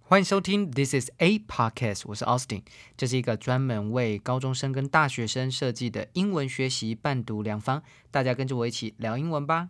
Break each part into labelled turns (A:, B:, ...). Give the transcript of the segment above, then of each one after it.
A: 欢迎收听 This is a podcast， 我是 Austin， 这是一个专门为高中生跟大学生设计的英文学习伴读良方，大家跟着我一起聊英文吧。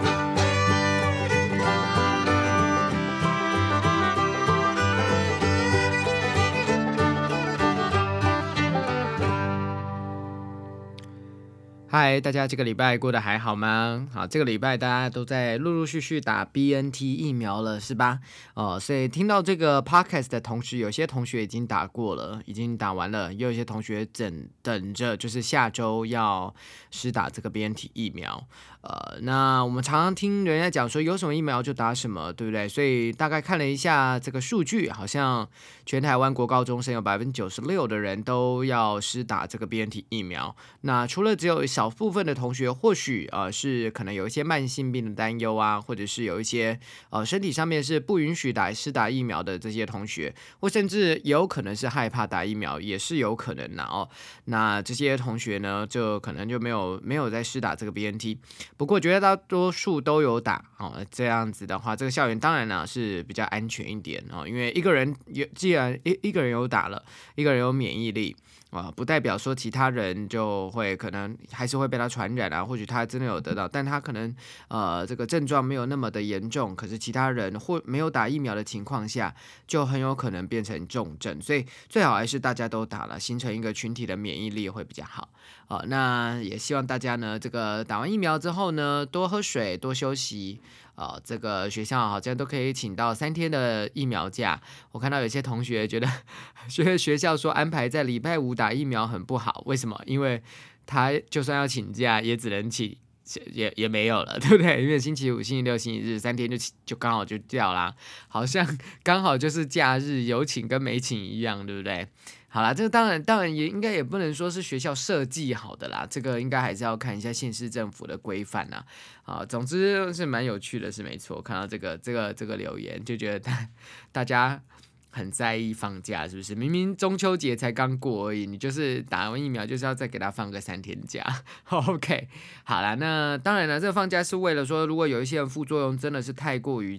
A: 嗨，大家这个礼拜过得还好吗？好，这个礼拜大家都在陆陆续续打 BNT 疫苗了，是吧？所以听到这个 podcast 的同时，有些同学已经打过了，已经打完了，也有一些同学等着，就是下周要施打这个 BNT 疫苗。那我们常常听人家讲说有什么疫苗就打什么，对不对？所以大概看了一下这个数据，好像全台湾国高中生有96%的人都要施打这个 BNT 疫苗。那除了只有少部分的同学或许是可能有一些慢性病的担忧啊，或者是有一些身体上面是不允许施打疫苗的这些同学，或甚至也有可能是害怕打疫苗，也是有可能的哦。那这些同学呢，就可能就没有在施打这个 BNT。不过绝大多数都有打这样子的话，这个校园当然呢是比较安全一点因为一个人既然一个人有打了，一个人有免疫力不代表说其他人就会可能还是会被他传染啊，或许他真的有得到，但他可能这个症状没有那么的严重，可是其他人或没有打疫苗的情况下，就很有可能变成重症，所以最好还是大家都打了，形成一个群体的免疫力会比较好。那也希望大家呢，这个打完疫苗之后呢，多喝水，多休息。这个学校好像都可以请到3天的疫苗假。我看到有些同学觉得学校说安排在礼拜5打疫苗很不好，为什么？因为他就算要请假，也只能请。也没有了，对不对？因为星期五、星期六、星期日3天就刚好就掉啦，好像刚好就是假日有请跟没请一样，对不对？好啦，这个当然也应该也不能说是学校设计好的啦，这个应该还是要看一下县市政府的规范啦。总之是蛮有趣的，是没错。看到这个留言，就觉得大家很在意放假，是不是？明明中秋节才刚过而已，你就是打完疫苗就是要再给他放个3天假。OK， 好啦，那当然了，这个放假是为了说，如果有一些人副作用真的是太过于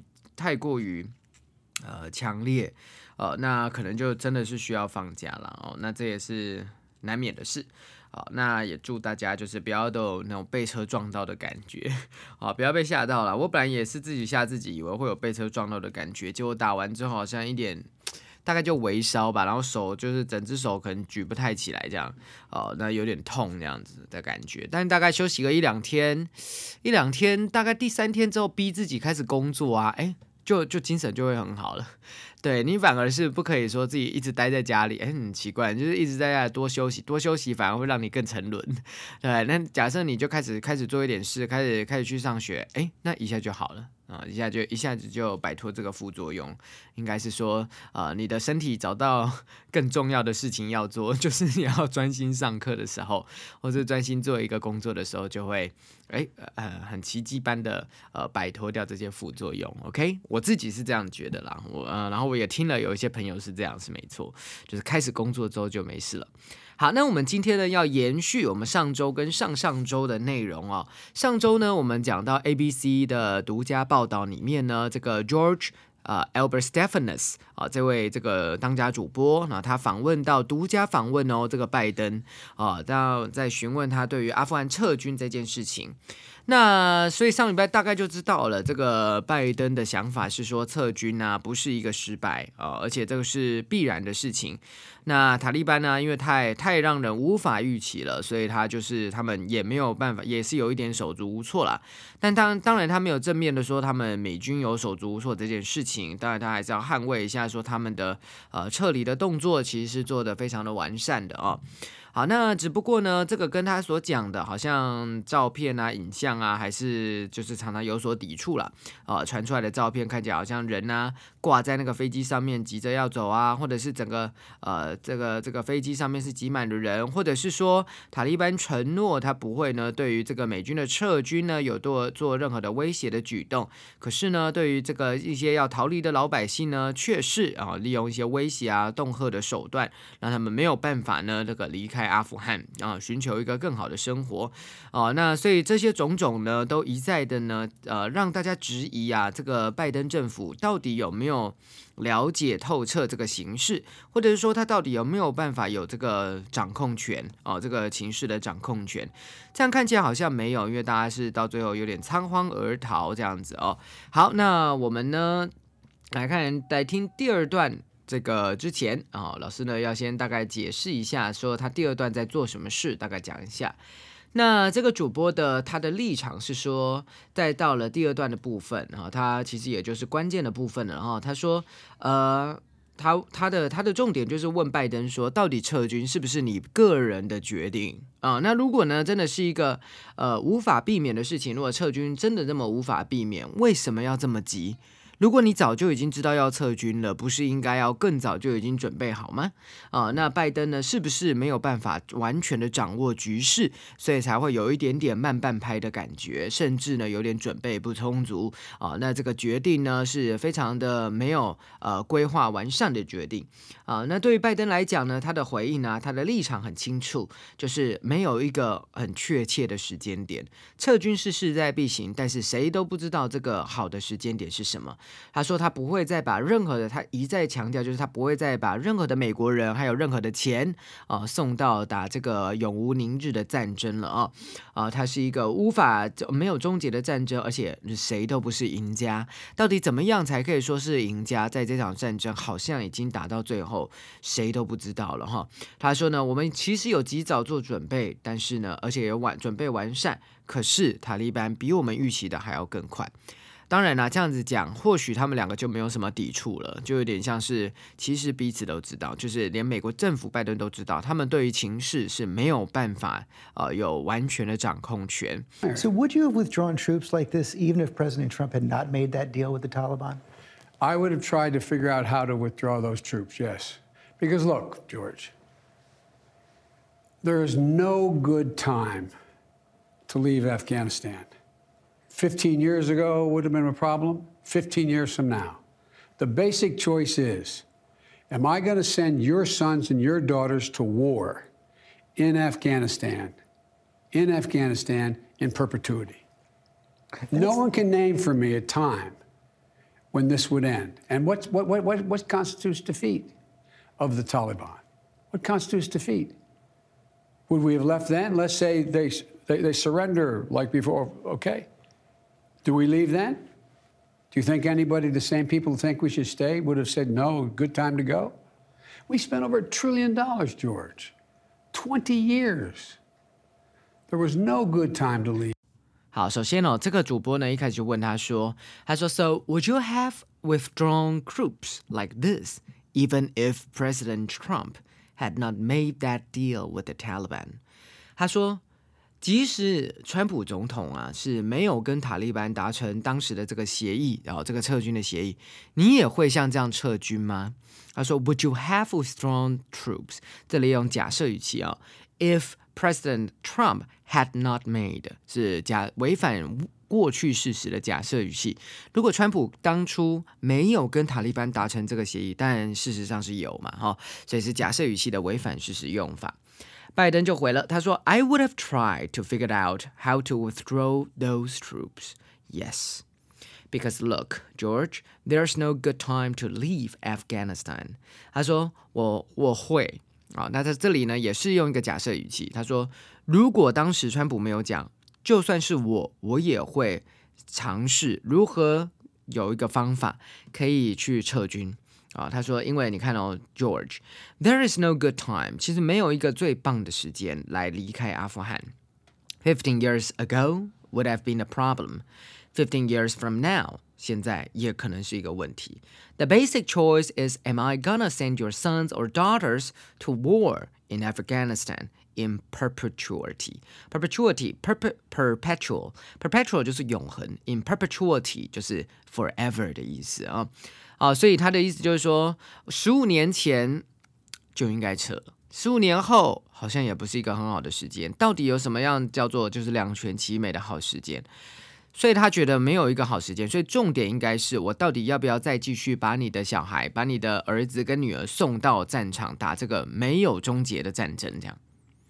A: 强烈，那可能就真的是需要放假了那这也是难免的事。那也祝大家就是不要都有那种被车撞到的感觉不要被吓到了。我本来也是自己吓自己，以为会有被车撞到的感觉，结果打完之后好像一点大概就微烧吧，然后手就是整只手可能举不太起来这样那有点痛这样子的感觉。但大概休息个一两天，大概第3天之后逼自己开始工作就精神就会很好了。对，你反而是不可以说自己一直待在家里，很奇怪，就是一直在家里多休息反而会让你更沉沦。对，那假设你就开始做一点事，开始去上学，那一下就好了一下子就摆脱这个副作用。应该是说你的身体找到更重要的事情要做，就是你要专心上课的时候，或者专心做一个工作的时候，就会很奇迹般的摆脱掉这些副作用。OK， 我自己是这样觉得啦。然后我也听了有一些朋友是这样，是没错，就是开始工作之后就没事了。好，那我们今天呢要延续我们上周跟上上周的内容上周呢我们讲到 ABC 的独家报道里面呢，这个 George Albert Stephanus 这位这个当家主播，他独家访问这个拜登在询问他对于阿富汗撤军这件事情。那所以上礼拜大概就知道了，这个拜登的想法是说撤军不是一个失败而且这个是必然的事情。那塔利班呢，因为太让人无法预期了，所以他们也没有办法，也是有一点手足无措啦。但当然他没有正面的说他们美军有手足无措这件事情，当然他还是要捍卫一下说他们的撤离的动作其实是做得非常的完善的好，那只不过呢，这个跟他所讲的好像照片影像还是就是常常有所抵触啦传出来的照片看起来好像人挂在那个飞机上面急着要走或者是整个这个飞机上面是挤满了人，或者是说塔利班承诺他不会呢对于这个美军的撤军呢有做任何的威胁的举动，可是呢对于这个一些要逃离的老百姓呢，却是利用一些威胁恫吓的手段，让他们没有办法呢这个离开阿富汗啊，寻求一个更好的生活那所以这些种种呢，都一再的呢，让大家质疑啊，这个拜登政府到底有没有了解透彻这个形势，或者是说他到底有没有办法有这个掌控权这个情势的掌控权？这样看起来好像没有，因为大家是到最后有点仓皇而逃这样子好，那我们呢来听第二段。这个之前老师呢要先大概解释一下，说他第二段在做什么事，大概讲一下。那这个主播他的立场是说，在到了第二段的部分他其实也就是关键的部分了他说，他的重点就是问拜登说，到底撤军是不是你个人的决定那如果呢真的是一个无法避免的事情，如果撤军真的这么无法避免，为什么要这么急？如果你早就已经知道要撤军了，不是应该要更早就已经准备好吗？那拜登呢，是不是没有办法完全的掌握局势，所以才会有一点点慢半拍的感觉，甚至呢有点准备不充足那这个决定呢是非常的没有规划完善的决定那对于拜登来讲呢，他的回应他的立场很清楚，就是没有一个很确切的时间点，撤军是势在必行，但是谁都不知道这个好的时间点是什么。他说他不会再把任何的，他一再强调，就是他不会再把任何的美国人还有任何的钱送到打这个永无宁日的战争了它是一个没有终结的战争，而且谁都不是赢家。到底怎么样才可以说是赢家？在这场战争好像已经打到最后，谁都不知道了他说呢，我们其实有及早做准备，但是呢，而且有准备完善，可是塔利班比我们预期的还要更快。当然啦，这样子讲，或许他们两个就没有什么抵触了，就有点像是，其实彼此都知道，就是连美国政府拜登都知道，他们对于情势是没有办法有完全的掌控权。
B: So would you have withdrawn troops like this even if President Trump had not made that deal with the Taliban?
C: I would have tried to figure out how to withdraw those troops, yes. Because look, George, there is no good time to leave Afghanistan. 15 years ago would have been a problem, 15 years from now. The basic choice is, am I going to send your sons and your daughters to war in Afghanistan in perpetuity? No one can name for me a time when this would end. And what constitutes defeat of the Taliban? What constitutes defeat? Would we have left then? Let's say they surrender like before, okay. Do we leave then? Do you think anybody, the same people who think we should stay, would have said, no, good time to go? We spent over $1 trillion, George. 20 years. There was no good time to leave.
A: 好，首先这个主播呢一开始就问他说 So would you have withdrawn troops like this even if President Trump had not made that deal with the Taliban? 他说即使川普总统是没有跟塔利班达成当时的这个协议这个撤军的协议，你也会像这样撤军吗？他说 Would you have withdrawn troops? 这里用假设语气If President Trump had not made 是违反过去事实的假设语气。如果川普当初没有跟塔利班达成这个协议，但事实上是有嘛所以是假设语气的违反事实用法。拜登就回了，他说 I would have tried to figure out how to withdraw those troops. Yes. Because look, George, there's no good time to leave Afghanistan. 他说我会那在这里呢也是用一个假设语气，他说如果当时川普没有讲，就算是我也会尝试如何有一个方法可以去撤军他说因为你看George, there is no good time, 其实没有一个最棒的时间来离开阿富汗。15 years ago would have been a problem. 15 years from now, 现在也可能是一个问题。The basic choice is, am I gonna send your sons or daughters to war in Afghanistan in perpetuity? Perpetuity, perpetual. Perpetual 就是永恒， in perpetuity 就是 forever 的意思所以他的意思就是说15年前就应该撤，15年后好像也不是一个很好的时间，到底有什么样叫做就是两全其美的好时间？所以他觉得没有一个好时间，所以重点应该是我到底要不要再继续把你的小孩、把你的儿子跟女儿送到战场打这个没有终结的战争这样。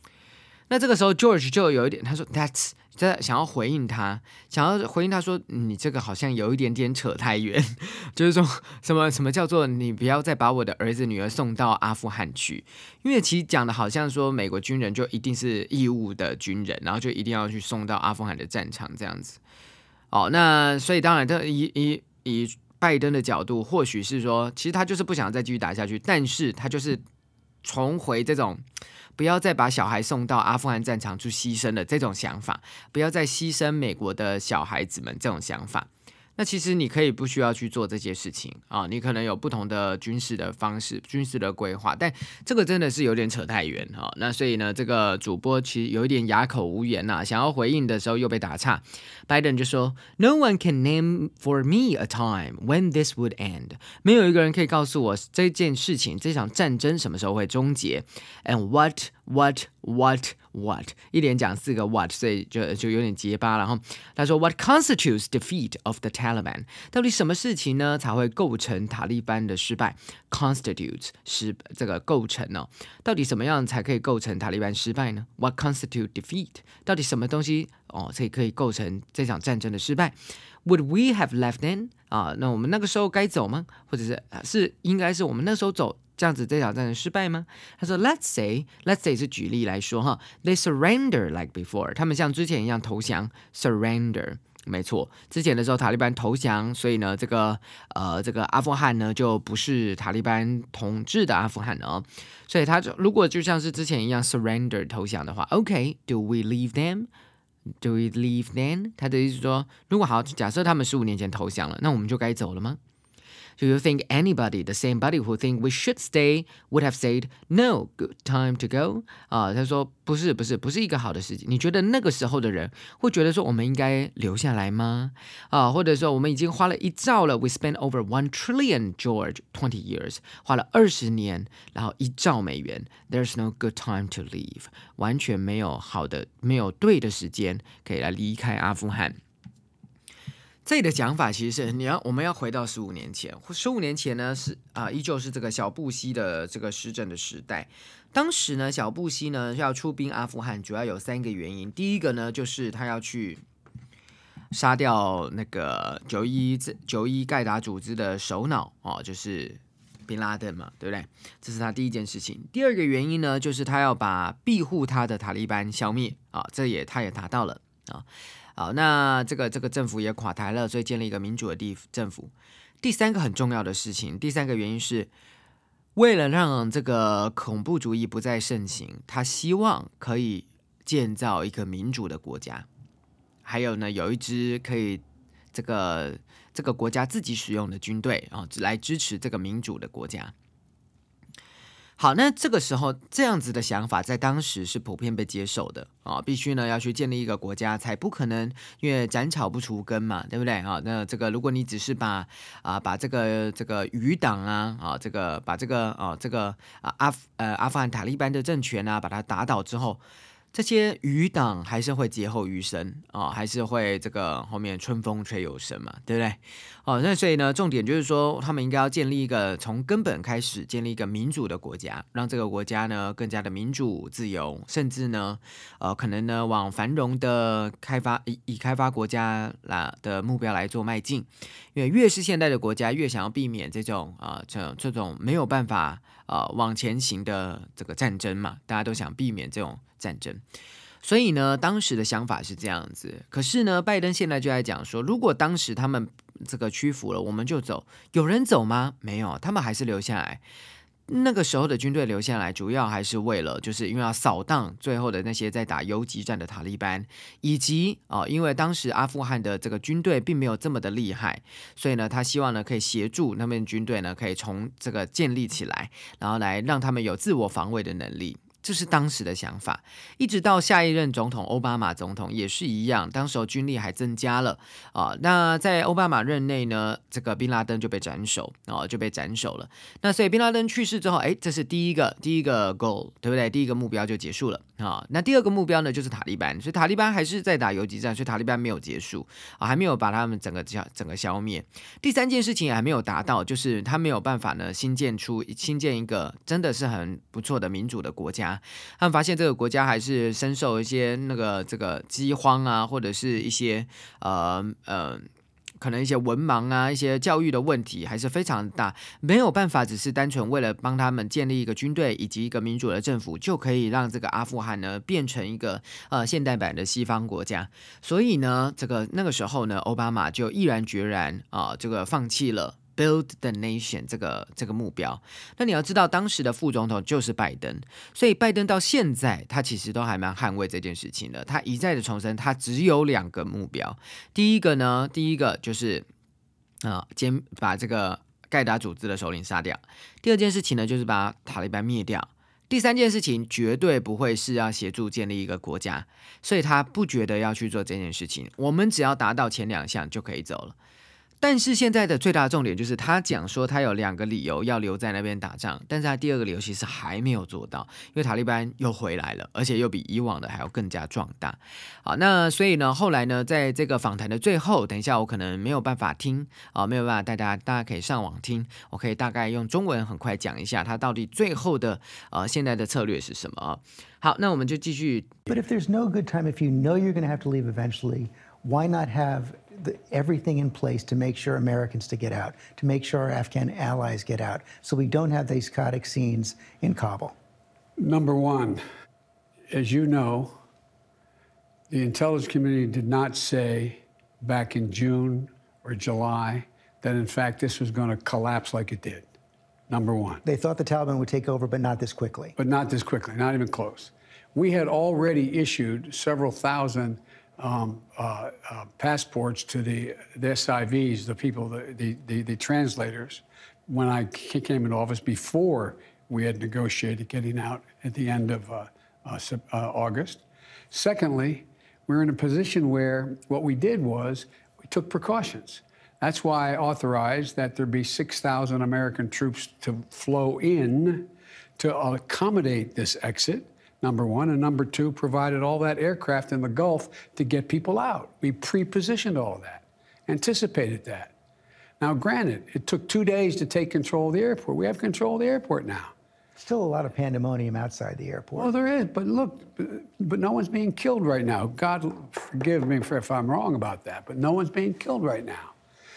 A: 那这个时候 George 就有一点，他说 That's 想要回应他说你这个好像有一点点扯太远，就是说什么叫做你不要再把我的儿子女儿送到阿富汗去，因为其实讲的好像说美国军人就一定是义务的军人，然后就一定要去送到阿富汗的战场这样子。那所以当然以拜登的角度，或许是说其实他就是不想再继续打下去，但是他就是重回这种不要再把小孩送到阿富汗战场去牺牲的这种想法，不要再牺牲美国的小孩子们这种想法。那其实你可以不需要去做这些事情你可能有不同的军事的方式、军事的规划，但这个真的是有点扯太远那所以呢，这个主播其实有一点哑口无言想要回应的时候又被打岔。拜登就说 ：“No one can name for me a time when this would end。”没有一个人可以告诉我这件事情、这场战争什么时候会终结。And what 一连讲4个 what， 所以就有点结巴。然后他说 What constitutes defeat of the Taliban？ 到底什么事情呢才会构成塔利班的失败 ？Constitutes 是这个构成到底什么样才可以构成塔利班失败呢 ？What constitute defeat？ 到底什么东西才可以构成这场战争的失败 ？Would we have left then？ 那我们那个时候该走吗？或者是应该是我们那时候走？这样子这场战争失败吗？他说 Let's say 是举例来说They surrender like before， 他们像之前一样投降 surrender， 没错，之前的时候塔利班投降，所以呢这个阿富汗呢就不是塔利班统治的阿富汗所以他如果就像是之前一样 surrender 投降的话 OK do we leave them？Do we leave then？ 他的意思是说，如果好，假设他们15年前投降了，那我们就该走了吗？Do you think anybody, the same body who think we should stay, would have said, no, good time to go? 他说不是一个好的事情。你觉得那个时候的人会觉得说我们应该留下来吗？或者说我们已经花了1兆了 ，we spent over 1 trillion, George, 20 years， 花了20年，然后1兆美元。There's no good time to leave， 完全没有对的时间可以来离开阿富汗。这里的讲法其实是我们要回到15年前，15年前呢是依旧是这个小布希的这个施政的时代。当时呢，小布希呢要出兵阿富汗，主要有3个原因。第一个呢，就是他要去杀掉那个9·11盖达组织的首脑就是宾拉登嘛，对不对？这是他第一件事情。第二个原因呢，就是他要把庇护他的塔利班消灭他也达到了好，那这个政府也垮台了，所以建立一个民主的政府。第3个很重要的事情，第3个原因是为了让这个恐怖主义不再盛行，他希望可以建造一个民主的国家，还有呢，有一支可以这个国家自己使用的军队来支持这个民主的国家。好，那这个时候这样子的想法在当时是普遍被接受的必须呢要去建立一个国家，才不可能因为斩草不除根嘛，对不对那这个如果你只是把这个余党把这个阿富汗塔利班的政权把它打倒之后，这些余党还是会劫后余生还是会这个后面春风吹又生嘛，对不对那所以呢，重点就是说，他们应该要建立一个从根本开始建立一个民主的国家，让这个国家呢更加的民主自由，甚至呢可能呢往繁荣的以开发国家的目标来做迈进。因为越是现代的国家，越想要避免这种没有办法往前行的这个战争嘛，大家都想避免这种战争。所以呢，当时的想法是这样子。可是呢，拜登现在就在讲说，如果当时他们这个屈服了，我们就走。有人走吗？没有，他们还是留下来。那个时候的军队留下来，主要还是为了，就是因为要扫荡最后的那些在打游击战的塔利班，以及因为当时阿富汗的这个军队并没有这么的厉害，所以呢，他希望呢可以协助那边军队呢可以从这个建立起来，然后来让他们有自我防卫的能力。这是当时的想法，一直到下一任总统奥巴马总统也是一样，当时军力还增加了那在奥巴马任内呢，这个宾拉登就被斩首了。那所以宾拉登去世之后，这是第一个 goal， 对不对？第一个目标就结束了。 那第二个目标呢就是塔利班，所以塔利班还是在打游击战，所以塔利班没有结束还没有把他们整个消灭。第三件事情也还没有达到，就是他没有办法呢新建一个真的是很不错的民主的国家。他们发现这个国家还是深受一些这个饥荒啊，或者是一些可能一些文盲啊，一些教育的问题还是非常大，没有办法只是单纯为了帮他们建立一个军队以及一个民主的政府，就可以让这个阿富汗呢变成一个现代版的西方国家。所以呢，那个时候呢，奥巴马就毅然决然这个放弃了Build the nation 这个目标。那你要知道当时的副总统就是拜登，所以拜登到现在他其实都还蛮捍卫这件事情的。他一再的重申他只有2个目标。第一个就是把这个盖达组织的首领杀掉。第二件事情呢就是把塔利班灭掉。第三件事情绝对不会是要协助建立一个国家，所以他不觉得要去做这件事情。我们只要达到前2项就可以走了。但是现在的最大的重点就是他讲说他有2个理由要留在那边打仗，但是他第2个理由其实还没有做到，因为塔利班又回来了，而且又比以往的还要更加壮大。好，那所以呢，后来呢，在这个访谈的最后，等一下我可能没有办法听没有办法带大家可以上网听，我可以大概用中文很快讲一下他到底最后的现在的策略是什么好，那我们就继续。
B: But if there's no good time, if you know you're going to have to leave eventually, why not have everything in place to make sure Americans to get out, to make sure our Afghan allies get out, so we don't have these chaotic scenes in Kabul?
C: Number one, as you know, the intelligence community did not say back in June or July that, in fact, this was going to collapse like it did. Number one.
B: They thought the Taliban would take over, but not this quickly.
C: But not this quickly, not even close. We had already issued several thousand passports to the SIVs, the people, the translators, when I came into office before we had negotiated getting out at the end of August. Secondly, we're in a position where what we did was we took precautions. That's why I authorized that there be 6,000 American troops to flow in to accommodate this exit. Number one. And number two, provided all that aircraft in the Gulf to get people out. We pre-positioned all of that, anticipated that. Now, granted, it took 2 days to take control of the airport. We have control of the airport now.
B: Still a lot of pandemonium outside the airport.
C: Well, there is, but look, but no one's being killed right now. God forgive me if I'm wrong about that, but no one's being killed right now.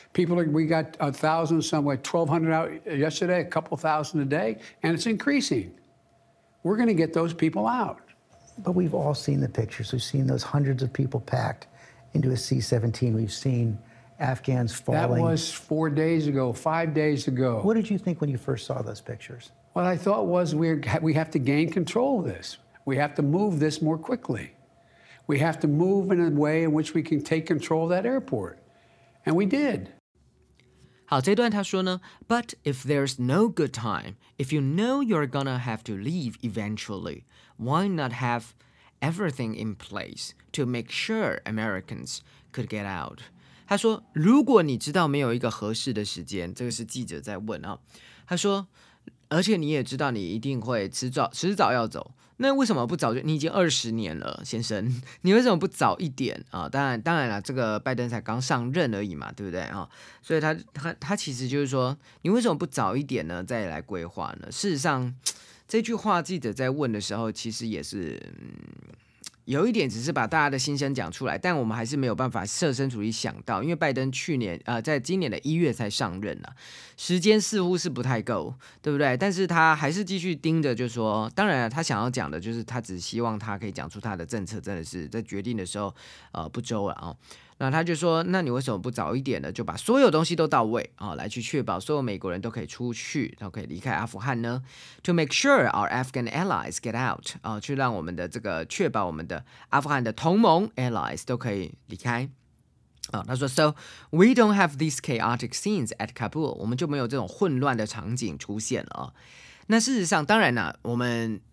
C: We got 1,000, somewhere 1,200 out yesterday, a couple thousand a day, and it's increasing. We're going to get those people out.
B: But we've all seen the pictures. We've seen those hundreds of people packed into a C-17. We've seen Afghans falling.
C: That was 4 days ago, 5 days ago.
B: What did you think when you first saw those pictures?
C: What I thought was we have to gain control of this. We have to move this more quickly. We have to move in a way in which we can take control of that airport. And we did.
A: 好，这段他说呢 ，But if there's no good time, if you know you're gonna have to leave eventually, why not have everything in place to make sure Americans could get out? 他说，如果你知道没有一个合适的时间，这个是记者在问他说，而且你也知道你一定会迟早要走。那为什么不早就？你已经20年了，先生，你为什么不早一点当然了，这个拜登才刚上任而已嘛，对不对所以他其实就是说，你为什么不早一点呢？再来规划呢？事实上，这句话记者在问的时候，其实也是有一点只是把大家的心声讲出来，但我们还是没有办法设身处地想到，因为拜登在今年的1月才上任时间似乎是不太够，对不对？但是他还是继续盯着，就说，当然他想要讲的就是他只希望他可以讲出他的政策真的是在决定的时候不周了那他就说，那你为什么不早一点呢？就把所有东西都到位来去确保所有美国人都可以出去，都可以离开阿富汗呢 ？To make sure our Afghan allies get out 去让我们的这个确保我们的阿富汗的同盟 allies 都可以离开。他说 So we don't have these chaotic scenes at Kabul， 我们就没有这种混乱的场景出现了那事实上，当然我们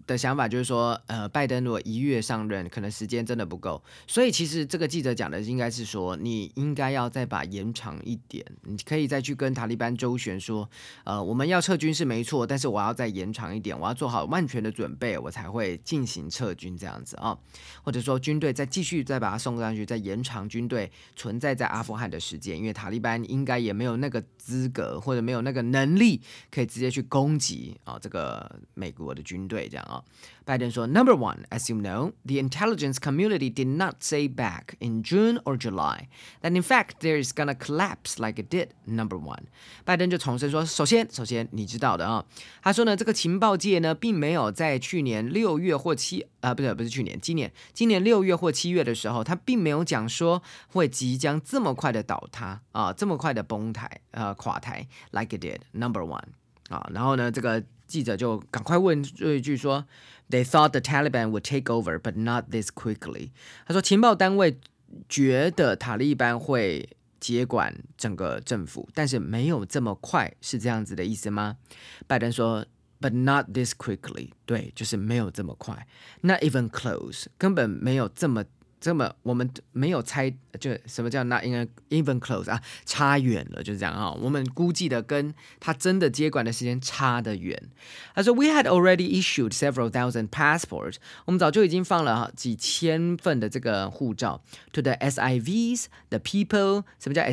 A: 的想法就是说，拜登如果1月上任，可能时间真的不够，所以其实这个记者讲的应该是说，你应该要再把延长一点，你可以再去跟塔利班周旋说，我们要撤军是没错，但是我要再延长一点，我要做好万全的准备，我才会进行撤军这样子啊，或者说军队再继续再把它送上去，再延长军队存在在阿富汗的时间，因为塔利班应该也没有那个资格或者没有那个能力可以直接去攻击这个美国的军队这样啊。拜登说 Number one, as you know, the intelligence community did not say back in June or July that in fact there is gonna collapse like it did. Number one. 拜登就重申说，首先你知道的啊，他说呢，这个情报界呢并没有在去年6月或不是去年，今年6月或7月的时候，他并没有讲说会即将这么快的倒塌这么快的崩台垮台 like it did. Number one. 然后呢，这个记者就赶快问一句说 They thought the Taliban would take over, but not this quickly. 他说情报单位觉得塔利班会接管整个政府，但是没有这么快，是这样子的意思吗？拜登说 But not this quickly. 对，就是没有这么快， Not even close. 根本没有这么我们没有猜，就什么叫 not even close 差远了，就是这样我们估计的跟他真的接管的时间差得远。他说 We had already issued several thousand passports. 我们早就已经放了几千份的这个护照 to the SIVs, the people. 什么叫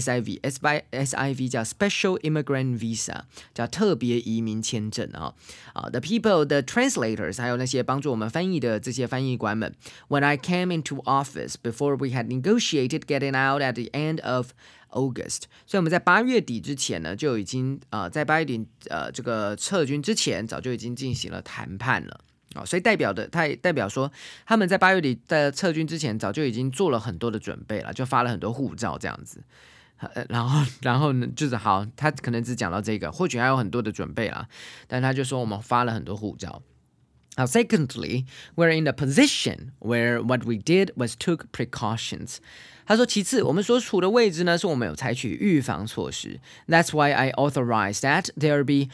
A: SIV 叫 Special Immigrant Visa, 叫特别移民签证the people, the translators, 还有那些帮助我们翻译的这些翻译官们。When I came into office before we had negotiated getting out at the end of August. 所以我们在8月底之前呢，就已经在8月底这个撤军之前，早就已经进行了谈判了。所以代表说他们在8月底在撤军之前，早就已经做了很多的准备了，就发了很多护照这样子。然后呢，就是好，他可能只讲到这个，或许还有很多的准备啦，但他就说我们发了很多护照。Now, secondly, we're in a position where what we did was took precautions. 他说其次我们所处的位置呢，是我们有采取预防措施。That's why I authorized that there be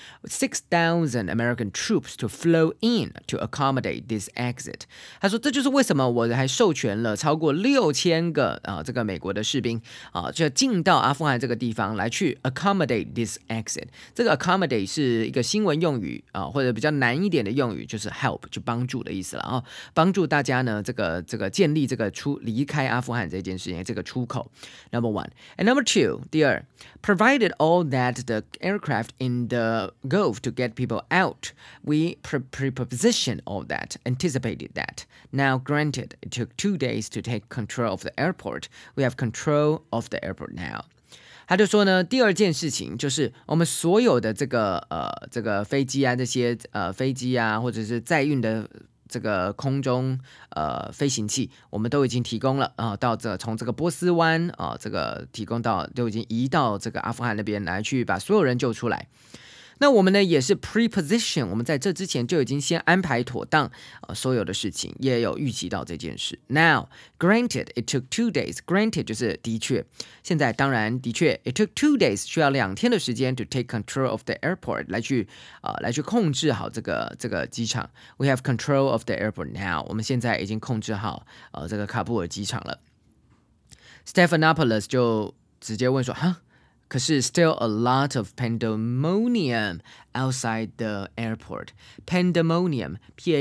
A: 6,000 American troops to flow in to accommodate this exit. 他说这就是为什么我还授权了超过6000个这个美国的士兵就进到阿富汗这个地方来去 accommodate this exit. 这个 accommodate 是一个新闻用语或者比较难一点的用语，就是 help 就帮助的意思了帮助大家呢这个建立这个离开阿富汗这件事情。这个出口 Number one. And number two, 第二 provided all that the aircraft in the Gulf to get people out. We prepositioned all that, anticipated that. Now, granted, it took 2 days to take control of the airport. We have control of the airport now. 他就说呢，第二件事情就是我们所有的这个飞机这些飞机或者是载运的这个空中飞行器，我们都已经提供了到从这个波斯湾这个提供到都已经移到这个阿富汗那边来去把所有人救出来。那我们呢也是 preposition， 我们在这之前就已经先安排妥当所有的事情，也有预期到这件事。Now, granted, it took 2 days. Granted 就是的确，现在当然的确 it took 2 days 需要2天的时间 to take control of the airport 来去控制好这个机场。We have control of the airport now. 我们现在已经控制好这个喀布尔机场了。Stephanopoulos 就直接问说可是 still a lot of pandemonium outside the airport. Pandemonium,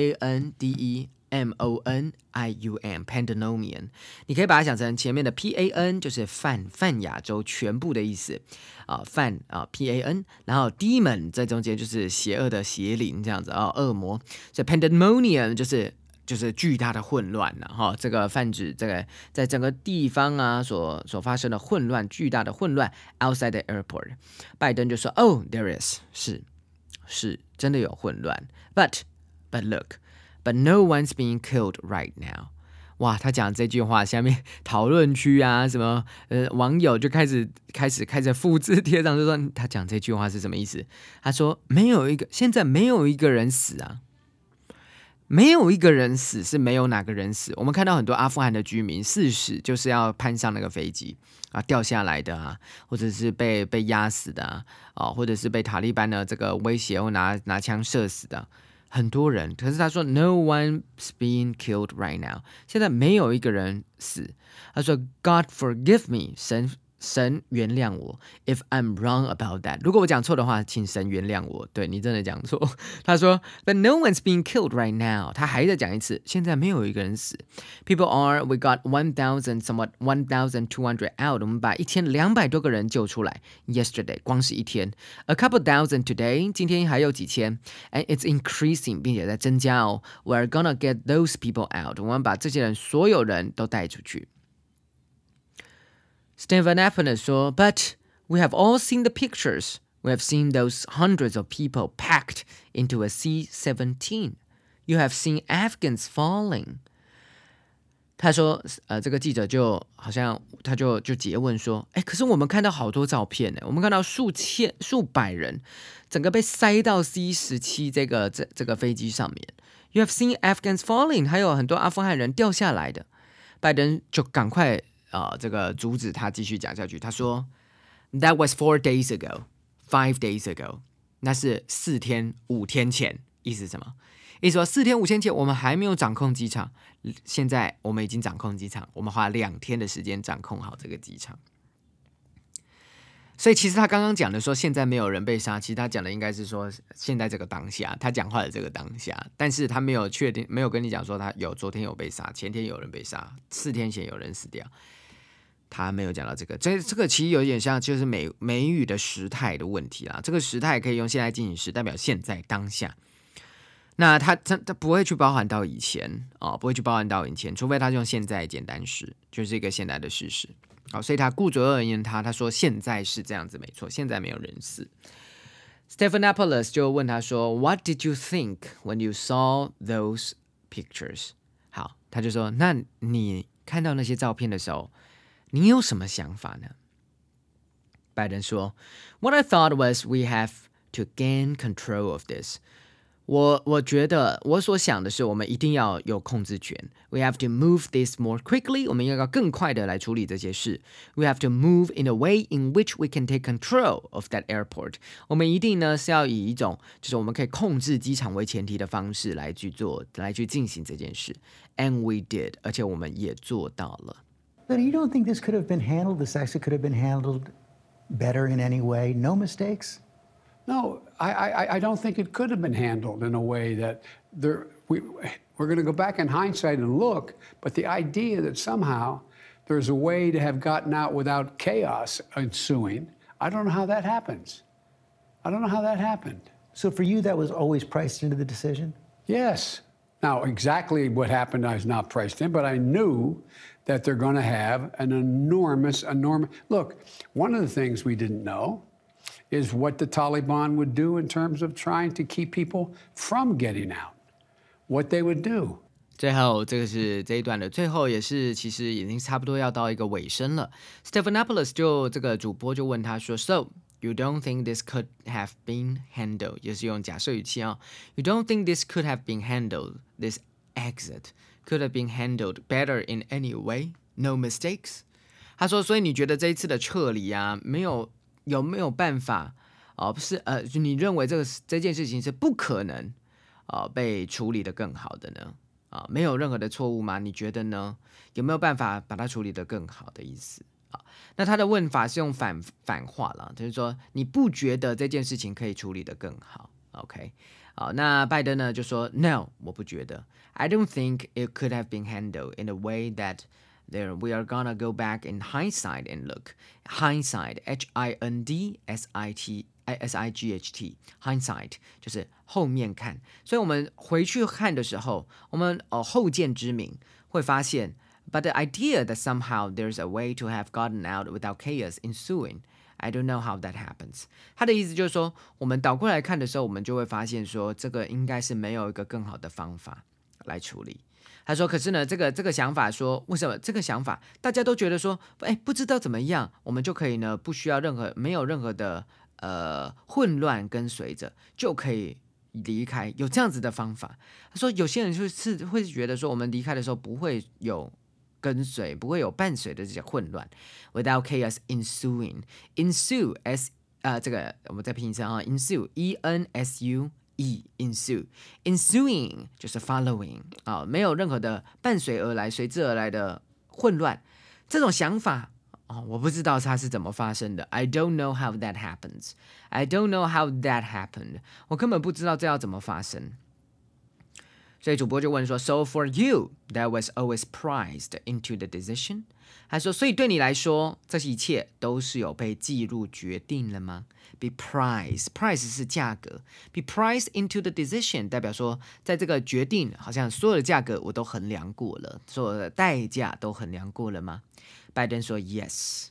A: P-A-N-D-E-M-O-N-I-U-M, pandemonium. 你可以把它想成前面的 P-A-N 就是泛亚洲全部的意思P-A-N 然后 demon 在中间就是邪恶的邪灵这样子恶魔，所以 pandemonium就是巨大的混乱这个泛指这个在整个地方所发生的混乱，巨大的混乱 outside the airport。 拜登就说 Oh, there is 是真的有混乱 but look, but no one's being killed right now。 哇，他讲这句话下面讨论区什么网友就开始复制贴上，就说他讲这句话是什么意思。他说现在没有一个人死没有一个人死，是没有哪个人死。我们看到很多阿富汗的居民4死就是要攀上那个飞机掉下来的或者是被压死的或者是被塔利班的这个威胁或拿枪射死的。 很多人，可是他说 No one's being killed right now， 现在没有一个人死。他说 God forgive me， 神原谅我 ，If I'm wrong about that， 如果我讲错的话，请神原谅我。对你真的讲错。他说 But no one's being killed right now， 他还在讲一次，现在没有一个人死。People we got 1,200 out， 我们把1200多个人救出来。Yesterday， 光是一天。A couple thousand today， 今天还有几千。And it's increasing， 并且在增加哦。We're gonna get those people out， 我们把这些人所有人都带出去。Stephanopoulos 说 But we have all seen the pictures. We have seen those hundreds of people packed into a C-17. You have seen Afghans falling. 他说这个记者就好像他就诘问说可是我们看到好多照片呢，我们看到数百人整个被塞到 C-17 这个飞机上面。You have seen Afghans falling， 还有很多阿富汗人掉下来的。拜登就赶快这个阻止他继续讲下去。他说 That was 4 days ago, 5 days ago， 那是4天5天前。意思是什么？意思说4天5天前我们还没有掌控机场，现在我们已经掌控机场，我们花2天的时间掌控好这个机场。所以其实他刚刚讲的说现在没有人被杀，其实他讲的应该是说现在这个当下，他讲话的这个当下，但是他没有确定，没有跟你讲说他昨天有被杀，前天有人被杀，4天前有人死掉，他没有讲到这个。这个其实有点像就是美语的时态的问题啦。这个时态可以用现在进行时，代表现在当下。那他不会去包含到以前不会去包含到以前，除非他用现在简单时，就是一个现在的事实。所以他顾左右而言他说现在是这样子没错，现在没有人死。Stephanopoulos 就问他说 What did you think when you saw those pictures？ 好，他就说那你看到那些照片的时候你有什么想法呢？拜登说 What I thought was we have to gain control of this。我觉得我所想的是我们一定要有控制权。We have to move this more quickly， 我们要更快的来处理这些事。We have to move in a way in which we can take control of that airport。 我们一定呢是要以一种就是我们可以控制机场为前提的方式来去进行这件事。And we did， 而且我们也做到了。
B: But you don't think this could have been handled, this actually could have been handled better in any way? No mistakes?
C: No, I don't think it could have been handled in a way that we're going to go back in hindsight and look, but the idea that somehow there's a way to have gotten out without chaos ensuing, I don't know how that happens. I don't know how that happened.
B: So for you, that was always priced into the decision?
C: Yes. Now, exactly what happened is not priced in, but I knew that they're going to have an enormous... Look, one of the things we didn't know is what the Taliban would do in terms of trying to keep people from getting out, what they would do.
A: 最后，这个是这一段的最后，也是其实已经差不多要到一个尾声了。Stephanopoulos 这个主播就问他说 So, you don't think this could have been handled? 也是用假设语气You don't think this could have been handled, this exit could have been handled better in any way? No mistakes? 他说，所以你觉得这一次的撤离有没有办法不是就你认为这件事情是不可能被处理得更好的呢？没有任何的错误吗？你觉得呢？有没有办法把它处理得更好的意思？那他的问法是用反话了，就是说你不觉得这件事情可以处理得更好 ？OK， 那拜登呢就说 No， 我不觉得。I don't think it could have been handled in a way that we are gonna go back in hindsight and look. Hindsight, H-I-N-D-S-I-G-H-T, hindsight 就是后面看。所以我们回去看的时候，我们后见之明会发现 But the idea that somehow there's a way to have gotten out without chaos ensuing, I don't know how that happens. 他的意思就是说，我们倒过来看的时候，我们就会发现说，这个应该是没有一个更好的方法来处理。他说：“可是呢，这个想法说，为什么这个想法大家都觉得说，不知道怎么样，我们就可以呢，不需要没有任何的混乱跟随着，就可以离开，有这样子的方法。”他说：“有些人就是会觉得说，我们离开的时候不会有跟随，不会有伴随的这些混乱 ，without chaos ensuing， ensue 这个我们再拼一声ensue E-N-S-U。” ensuing 就是 following 没有任何的伴随而来、随之而来的混乱。这种想法我不知道它是怎么发生的。I don't know how that happens. I don't know how that happened. 我根本不知道这要怎么发生。所以主播就问说 So for you, that was always priced into the decision? 他说所以对你来说这一切都是有被计入决定了吗？ Be priced, price 是价格， Be priced into the decision 代表说在这个决定好像所有的价格我都衡量过了，所有的代价都衡量过了吗？拜登说 Yes.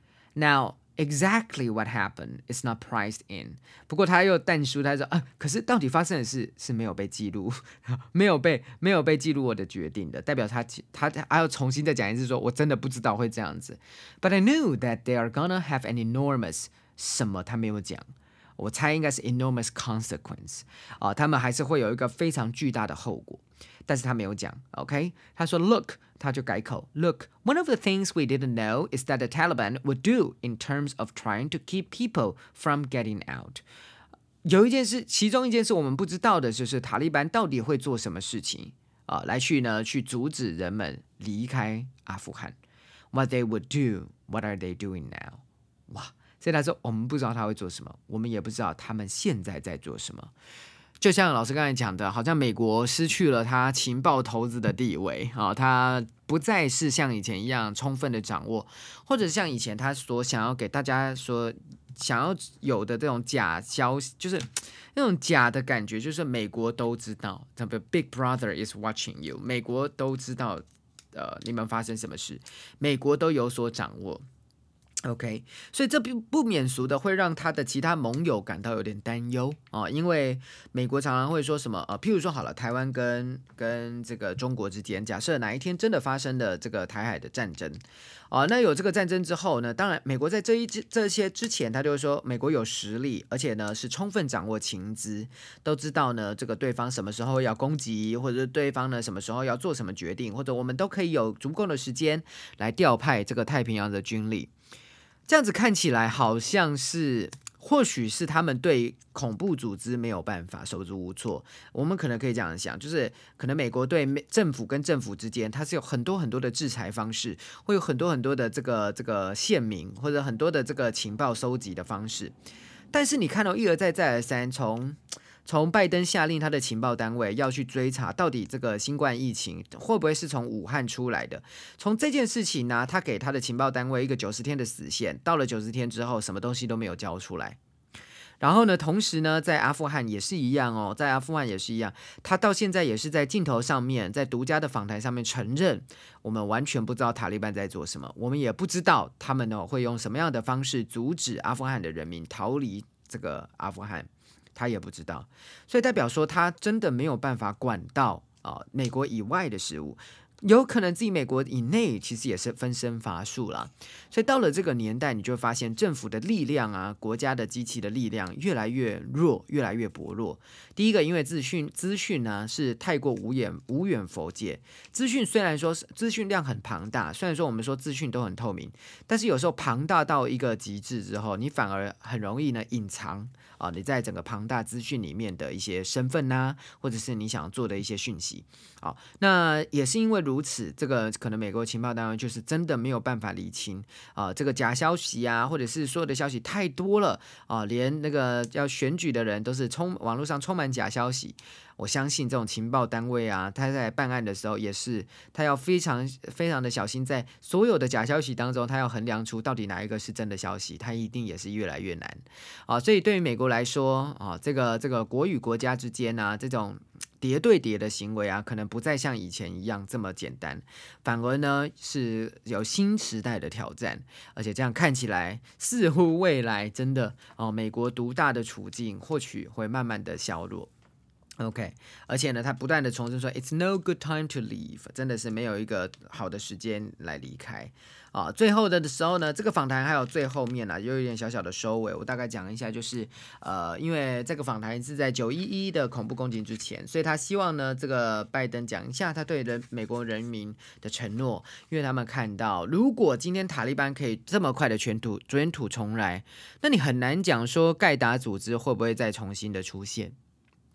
A: Now exactly what happened is not priced in. 不过他又淡出，他说可是到底发生的事是没有被记录，没有被记录我的决定的，代表他还要重新再讲一次说我真的不知道会这样子。But I knew that they are gonna have an enormous 什么他没有讲，我猜应该是 enormous consequence 他们还是会有一个非常巨大的后果，但是他没有讲 OK 他说 Look 他就改口 Look, one of the things we didn't know is that the Taliban would do in terms of trying to keep people from getting out. 有一件事，其中一件事我们不知道的就是塔利班到底会做什么事情来去阻止人们离开阿富汗。What they would do, what are they doing now? 哇，所以他说我们不知道他会做什么，我们也不知道他们现在在做什么。就像老师刚才讲的，好像美国失去了他情报头子的地位他不再是像以前一样充分的掌握，或者像以前他所想要给大家说想要有的这种假消息，就是那种假的感觉，就是美国都知道 The Big Brother is watching you， 美国都知道你们发生什么事，美国都有所掌握。OK， 所以这不免俗的会让他的其他盟友感到有点担忧因为美国常常会说什么譬如说好了，台湾跟这个中国之间，假设哪一天真的发生了这个台海的战争那有这个战争之后呢，当然美国在这些之前，他就会说美国有实力，而且呢是充分掌握情资，都知道呢这个对方什么时候要攻击，或者是对方呢什么时候要做什么决定，或者我们都可以有足够的时间来调派这个太平洋的军力。这样子看起来好像是，或许是他们对恐怖组织没有办法，手足无措。我们可能可以这样想，就是可能美国对政府跟政府之间，它是有很多很多的制裁方式，会有很多很多的这个限民，或者很多的这个情报收集的方式。但是你看到一而再再而三，从拜登下令他的情报单位要去追查到底这个新冠疫情会不会是从武汉出来的，从这件事情呢，他给他的情报单位一个90天的死线，到了90天之后什么东西都没有交出来。然后呢，同时呢，在阿富汗也是一样在阿富汗也是一样，他到现在也是在镜头上面，在独家的访谈上面承认，我们完全不知道塔利班在做什么，我们也不知道他们呢会用什么样的方式阻止阿富汗的人民逃离这个阿富汗，他也不知道，所以代表说他真的没有办法管到美国以外的事物。有可能自己美国以内其实也是分身乏术啦，所以到了这个年代，你就会发现政府的力量国家的机器的力量越来越弱，越来越薄弱。第一个，因为资讯是太过无远弗届，资讯虽然说资讯量很庞大，虽然说我们说资讯都很透明，但是有时候庞大到一个极致之后，你反而很容易呢隐藏你在整个庞大资讯里面的一些身份或者是你想做的一些讯息那也是因为如此，这个可能美国情报单位就是真的没有办法厘清这个假消息或者是所有的消息太多了连那个要选举的人都是网络上充满假消息。我相信这种情报单位他在办案的时候也是，他要非常非常的小心，在所有的假消息当中，他要衡量出到底哪一个是真的消息，他一定也是越来越难所以对于美国来说这个国与国家之间这种叠对叠的行为可能不再像以前一样这么简单，反而呢是有新时代的挑战，而且这样看起来似乎未来真的美国独大的处境或许会慢慢的削弱。OK， 而且呢，他不断的重申说 ，It's no good time to leave， 真的是没有一个好的时间来离开最后的时候呢，这个访谈还有最后面有一点小小的收尾，我大概讲一下，就是因为这个访谈是在911的恐怖攻击之前，所以他希望呢，这个拜登讲一下他对美国人民的承诺，因为他们看到，如果今天塔利班可以这么快的卷土重来，那你很难讲说盖达组织会不会再重新的出现。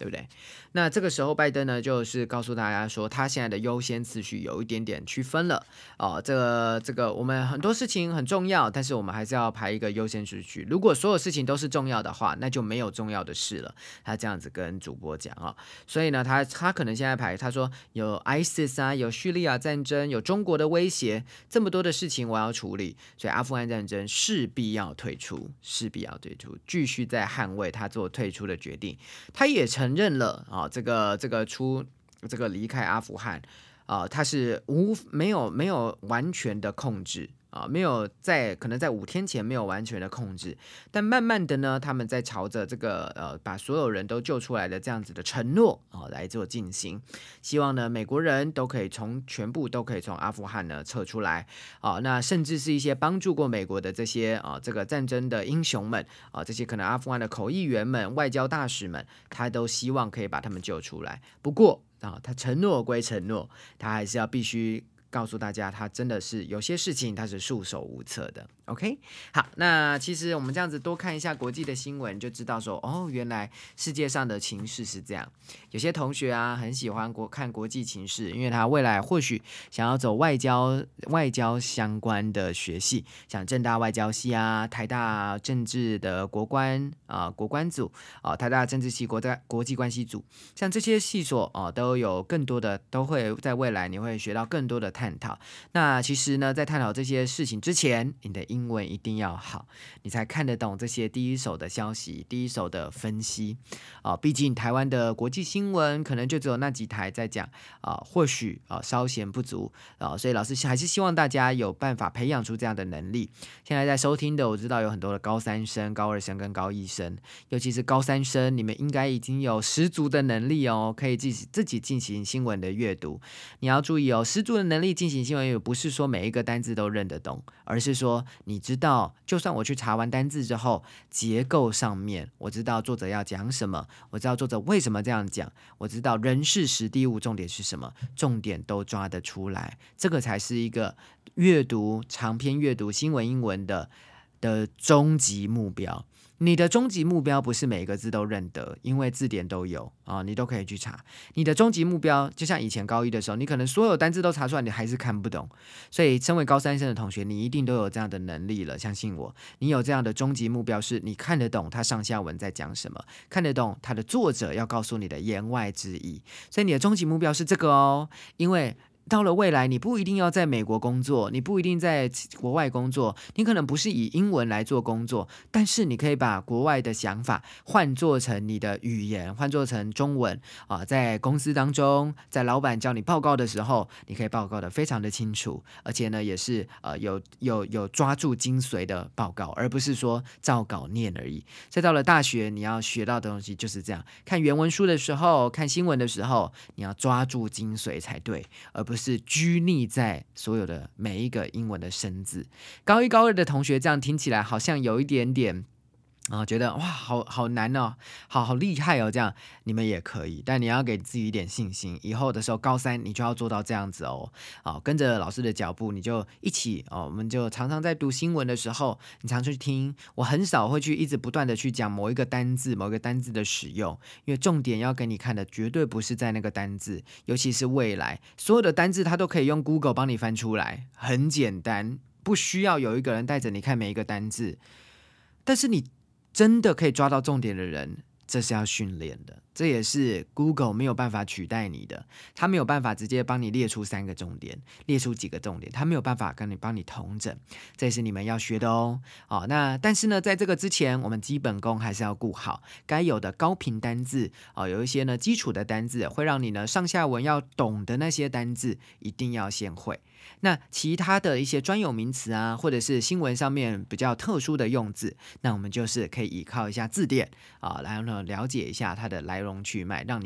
A: 对不对？那这个时候拜登呢，就是告诉大家说，他现在的优先次序有一点点区分了这个我们很多事情很重要，但是我们还是要排一个优先次序。如果所有事情都是重要的话，那就没有重要的事了。他这样子跟主播讲所以呢，他可能现在排，他说有 ISIS 啊，有叙利亚战争，有中国的威胁，这么多的事情我要处理，所以阿富汗战争势必要退出，继续在捍卫他做退出的决定。他也承认了这个离开阿富汗他是没有完全的控制没有可能在5天前没有完全的控制，但慢慢的呢，他们在朝着这个把所有人都救出来的这样子的承诺来做进行，希望呢美国人全部都可以从阿富汗呢撤出来那甚至是一些帮助过美国的这些这个战争的英雄们这些可能阿富汗的口译员们、外交大使们，他都希望可以把他们救出来。不过他承诺归承诺，他还是要必须告诉大家，他真的是有些事情他是束手无策的。OK， 好，那其实我们这样子多看一下国际的新闻，就知道说原来世界上的情势是这样。有些同学很喜欢看国际情势，因为他未来或许想要走外交相关的学系，像政大外交系台大政治的国关组台大政治系国际关系组，像这些系所都有更多的，都会在未来你会学到更多的探讨。那其实呢，在探讨这些事情之前，你的英文一定要好，你才看得懂这些第一手的消息、第一手的分析毕竟台湾的国际新闻可能就只有那几台在讲或许稍显不足所以老师还是希望大家有办法培养出这样的能力。现在在收听的，我知道有很多的高3生、高2生跟高1生，尤其是高3生，你们应该已经有十足的能力可以自己进行新闻的阅读。你要注意十足的能力进行新闻阅读，不是说每一个单字都认得懂，而是说你知道，就算我去查完单字之后，结构上面我知道作者要讲什么，我知道作者为什么这样讲，我知道人事时地物重点是什么，重点都抓得出来，这个才是一个长篇阅读新闻英文的终极目标。你的终极目标不是每个字都认得，因为字典都有你都可以去查。你的终极目标就像以前高1的时候，你可能所有单字都查出来，你还是看不懂。所以身为高3生的同学，你一定都有这样的能力了，相信我，你有这样的终极目标，是你看得懂他上下文在讲什么，看得懂他的作者要告诉你的言外之意。所以你的终极目标是这个因为到了未来，你不一定要在美国工作，你不一定在国外工作，你可能不是以英文来做工作，但是你可以把国外的想法换做成你的语言，换做成中文在公司当中，在老板叫你报告的时候，你可以报告的非常的清楚，而且呢也是有抓住精髓的报告，而不是说照稿念而已。所以到了大学，你要学到的东西就是这样，看原文书的时候，看新闻的时候，你要抓住精髓才对，而不是拘泥在所有的每一个英文的生字。高1高2的同学这样听起来好像有一点点觉得哇好难好厉害这样你们也可以，但你要给自己一点信心，以后的时候高3你就要做到这样子跟着老师的脚步，你就一起我们就常常在读新闻的时候，你常去听，我很少会去一直不断的去讲某一个单字的使用，因为重点要给你看的绝对不是在那个单字，尤其是未来所有的单字它都可以用 Google 帮你翻出来，很简单，不需要有一个人带着你看每一个单字，但是你真的可以抓到重点的人，这是要训练的，这也是 Google 没有办法取代你的，他没有办法直接帮你列出3个重点，列出几个重点，他没有办法帮你统整，这也是你们要学的那但是呢，在这个之前，我们基本功还是要顾好，该有的高频单字有一些呢基础的单字，会让你呢上下文要懂的那些单字，一定要先会。那其他的一些专有名词或者是新闻上面比较特殊的用字，那我们就是可以依靠一下字典来了解一下它的来龙去脉，让你的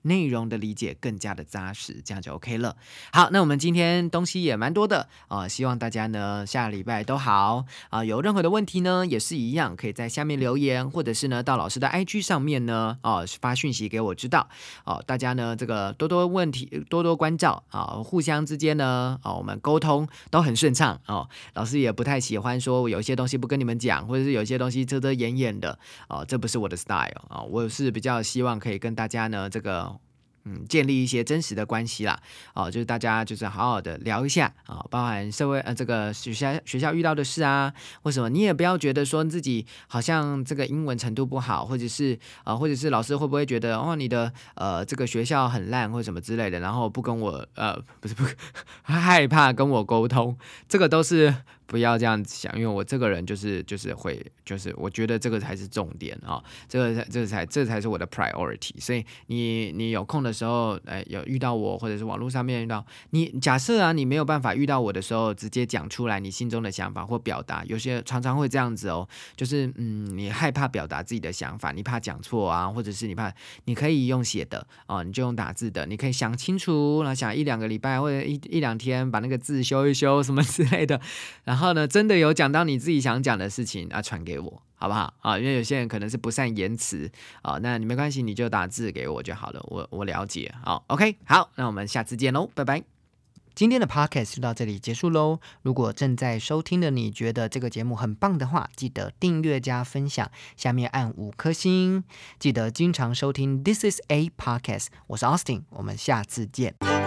A: 内容的理解更加的扎实，这样就 OK 了。好，那我们今天东西也蛮多的希望大家呢下礼拜都好有任何的问题呢也是一样，可以在下面留言，或者是呢到老师的 IG 上面呢发讯息给我知道大家呢这个多多问题多多关照互相之间呢我们沟通都很顺畅老师也不太喜欢说有些东西不跟你们讲，或者是有些东西遮遮掩掩的这不是我的 style我是比较希望可以跟大家呢这个建立一些真实的关系啦就是大家就是好好的聊一下包含社会这个学校遇到的事啊，为什么你也不要觉得说自己好像这个英文程度不好，或者是老师会不会觉得你的这个学校很烂或什么之类的，然后不跟我不害怕跟我沟通，这个都是不要这样子想，因为我这个人就是我觉得这个才是重点这才是我的 priority。 所以你有空的时候有遇到我，或者是网络上面遇到你，假设你没有办法遇到我的时候直接讲出来你心中的想法或表达，有些常常会这样子就是你害怕表达自己的想法，你怕讲错或者是你可以用写的你就用打字的，你可以想清楚，然后想1-2个礼拜或者一两天把那个字修一修什么之类的，然后呢真的有讲到你自己想讲的事情传给我好不好因为有些人可能是不善言辞那你没关系，你就打字给我就好了，我了解OK 好，那我们下次见喽，拜拜。今天的 podcast 就到这里结束喽。如果正在收听的你觉得这个节目很棒的话，记得订阅加分享，下面按5颗星。记得经常收听 This is a podcast， 我是 Austin， 我们下次见。